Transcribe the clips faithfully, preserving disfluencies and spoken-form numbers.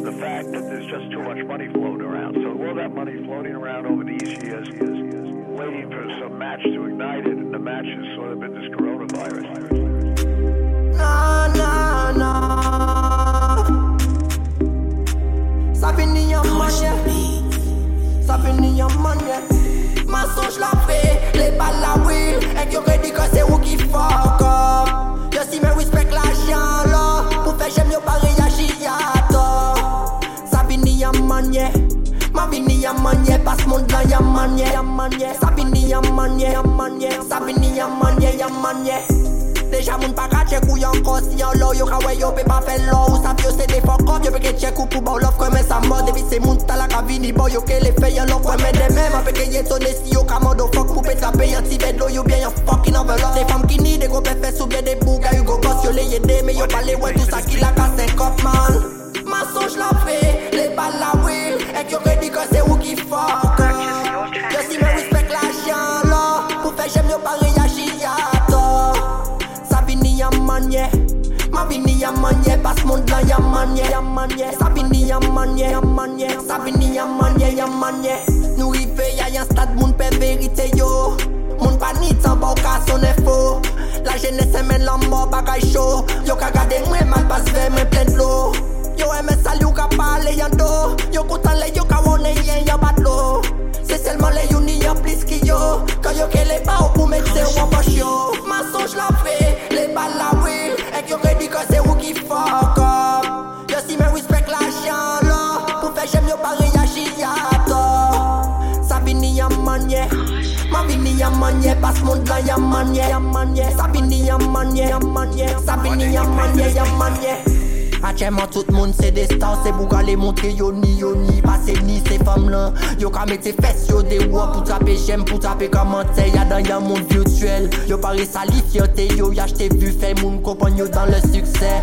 of the fact that there's just too much money floating around. So all that money floating around over these years is waiting for some match to ignite it, and the match has sort of been this coronavirus. Nah, nah, nah. Ça finit en manière. Ça finit en manière. Mensonge la fait, les balles la will. Et qui aurait dit que c'est où qui fuck up. Yo si me respect l'argent là. Pour faire j'aime yo pas réagir à tort. Ça finit en manière. Ma vini en manière, passe mon là y'a manière, y'a manière. Ça finit en manière, y'a manière. Ça finit en manière, y'a manière. Déjà moun pa ka check ou yon kos si yon low. Yo ka wey yo pe pa fe low. Ou sa vyo se de fuck up. Yo pe ke check ou pou ba love kwen men sa mod. Evi se moun ta la ka vini boy. Yo ke le fe yon love kwen men de men. Ma pe ke ye tone si yo ka modo fuck. Pou pe trape yon ti ved lo yo bien yon fucking envelope. Des femmes qui ni de go pe fe sou bien de bouga. Yo go boss yo le yede. Me yo pale wè tout sa ki la ka sen kop man. Mensonge la fe, les balles la will. Et qui aurait dit que c'est où qui fuck up. Yo si me respect l'argent là. Pour faire j'aime yo pas réagir à tort. Ça finit en manière. Ma vini en manière. Passe mon là y'a manière, y'a manière. Ça finit en manière, y'a manière. Ça finit en manière, y'a manière. Nous rive y'a y'a stade moun pe vérité yo. Moun panique sans bon cas son faux. La jeunesse mène l'amor bagay chaud. Yo ka gade mwen mal passe vers men plein de l'eau. Yo eme sali ou ka pale yon do. Yo koutan le yo ka wone yen yon batlo. C'est seulement les uni yon plis ki yo. Quand yo ke le ba ou pou mette ou an poch yo. Mensonge la fe, les balles la will. Et yo ke di que c'est ou ki fuck up. Yo si me respect l'argent là. Pour faire j'aime yo pas réagir à tort. Ça finit en manière. Ma vini en manière. Passe mon là y'a manière, y'a manière. Ça finit en manière, y'a manière. Ça finit en manière, y'a manière. Actuellement tout le monde c'est des stars, c'est pour aller montrer yo ni yo ni. Passer ni ces femmes là. Yo ka mette fesses yo des voix pour taper j'aime, pour taper commentaire. Y'a dans y'a monde virtuel. Yo pari sali fierté yo, y'a j't'ai vu fait moun compagne yo dans le succès.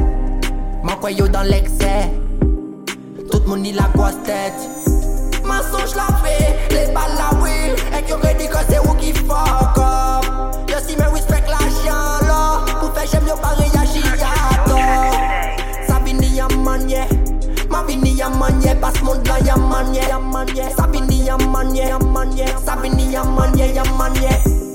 Man quoi yo dans l'excès. Tout le monde y la grosse tête. Mensonge la fait, les balles la will. Et qui aurait dit que c'est où qui fuck up. Yo si me respect l'argent là. Pour faire j'aime yo pas réagir à tort. Ma vini en manière, passe mon là y'a manière, y'a manière. Ça vini en manière, y'a manière. Ça vini en manière, y'a manière.